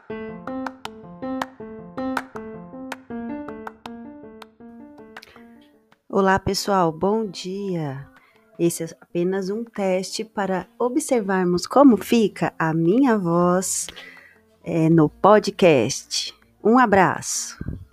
Olá, pessoal, bom dia. Esse é apenas um teste para observarmos como fica a minha voz no podcast. Um abraço.